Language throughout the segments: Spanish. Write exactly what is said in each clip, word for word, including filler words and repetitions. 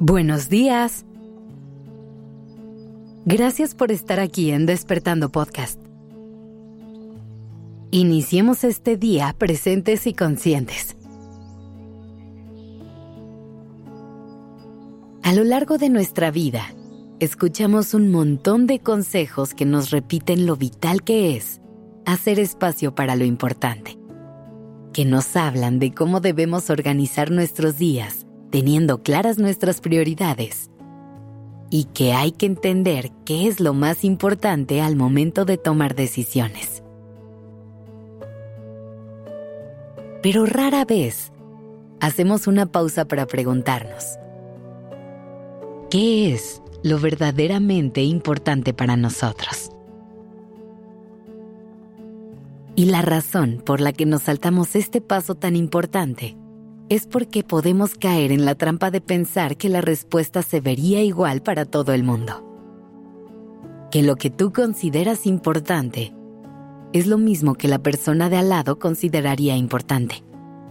Buenos días. Gracias por estar aquí en Despertando Podcast. Iniciemos este día presentes y conscientes. A lo largo de nuestra vida, escuchamos un montón de consejos que nos repiten lo vital que es hacer espacio para lo importante, que nos hablan de cómo debemos organizar nuestros días teniendo claras nuestras prioridades y que hay que entender qué es lo más importante al momento de tomar decisiones. Pero rara vez hacemos una pausa para preguntarnos, ¿qué es lo verdaderamente importante para nosotros? Y la razón por la que nos saltamos este paso tan importante es porque podemos caer en la trampa de pensar que la respuesta se vería igual para todo el mundo. Que lo que tú consideras importante es lo mismo que la persona de al lado consideraría importante.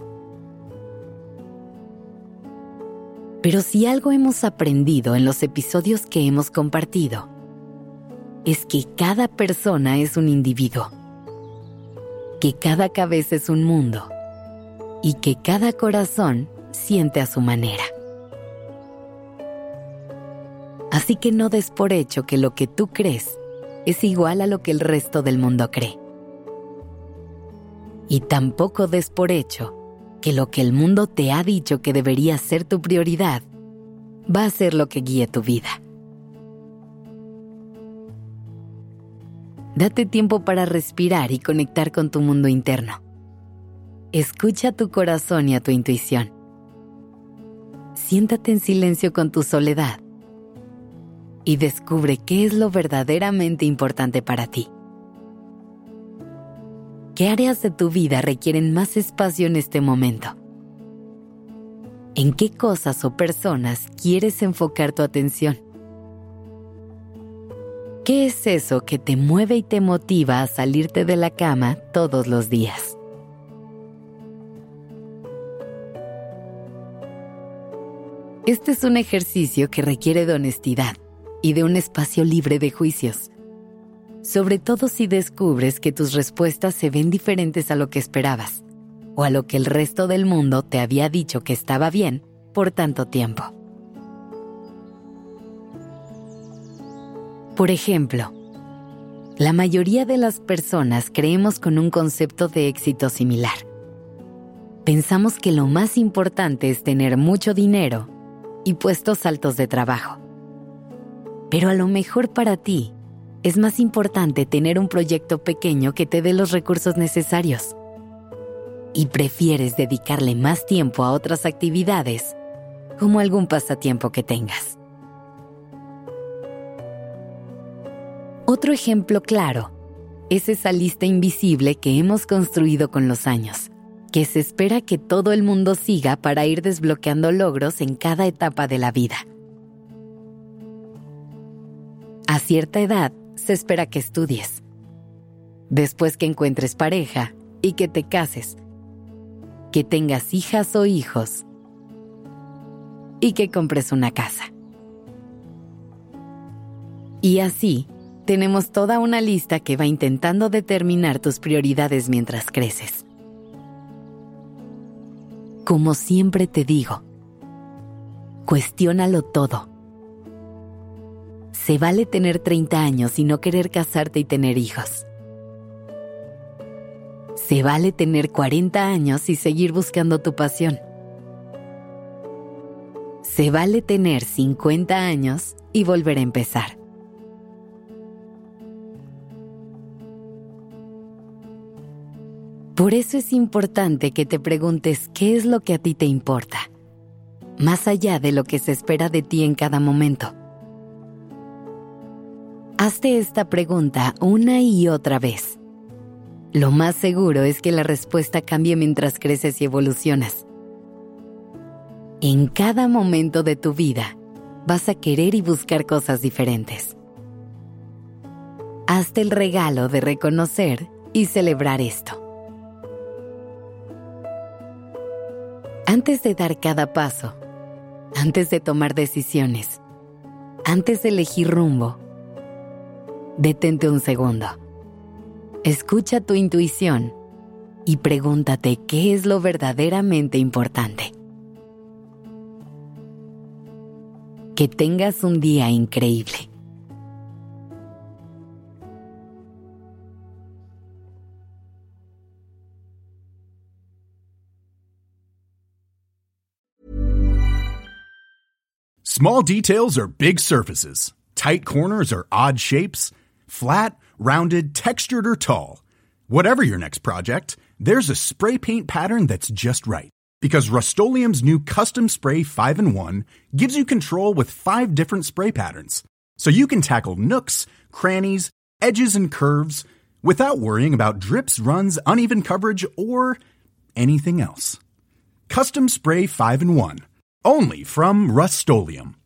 Pero si algo hemos aprendido en los episodios que hemos compartido, es que cada persona es un individuo, que cada cabeza es un mundo, y que cada corazón siente a su manera. Así que no des por hecho que lo que tú crees es igual a lo que el resto del mundo cree. Y tampoco des por hecho que lo que el mundo te ha dicho que debería ser tu prioridad va a ser lo que guíe tu vida. Date tiempo para respirar y conectar con tu mundo interno. Escucha a tu corazón y a tu intuición. Siéntate en silencio con tu soledad y descubre qué es lo verdaderamente importante para ti. ¿Qué áreas de tu vida requieren más espacio en este momento? ¿En qué cosas o personas quieres enfocar tu atención? ¿Qué es eso que te mueve y te motiva a salirte de la cama todos los días? Este es un ejercicio que requiere de honestidad y de un espacio libre de juicios, sobre todo si descubres que tus respuestas se ven diferentes a lo que esperabas o a lo que el resto del mundo te había dicho que estaba bien por tanto tiempo. Por ejemplo, la mayoría de las personas creemos con un concepto de éxito similar. Pensamos que lo más importante es tener mucho dinero y puestos altos de trabajo. Pero a lo mejor para ti es más importante tener un proyecto pequeño que te dé los recursos necesarios. Y prefieres dedicarle más tiempo a otras actividades, como algún pasatiempo que tengas. Otro ejemplo claro es esa lista invisible que hemos construido con los años, que se espera que todo el mundo siga para ir desbloqueando logros en cada etapa de la vida. A cierta edad, se espera que estudies, después que encuentres pareja y que te cases, que tengas hijas o hijos y que compres una casa. Y así, tenemos toda una lista que va intentando determinar tus prioridades mientras creces. Como siempre te digo, cuestiónalo todo. Se vale tener treinta años y no querer casarte y tener hijos. Se vale tener cuarenta años y seguir buscando tu pasión. Se vale tener cincuenta años y volver a empezar. Por eso es importante que te preguntes qué es lo que a ti te importa, más allá de lo que se espera de ti en cada momento. Hazte esta pregunta una y otra vez. Lo más seguro es que la respuesta cambie mientras creces y evolucionas. En cada momento de tu vida vas a querer y buscar cosas diferentes. Hazte el regalo de reconocer y celebrar esto. Antes de dar cada paso, antes de tomar decisiones, antes de elegir rumbo. Detente un segundo. Escucha tu intuición y pregúntate qué es lo verdaderamente importante. Que tengas un día increíble. Small details are big surfaces. Tight corners are odd shapes. Flat, rounded, textured, or tall. Whatever your next project, there's a spray paint pattern that's just right. Because Rust-Oleum's new Custom Spray five in one gives you control with five different spray patterns. So you can tackle nooks, crannies, edges, and curves without worrying about drips, runs, uneven coverage, or anything else. Custom Spray five in one. Only from Rust-Oleum.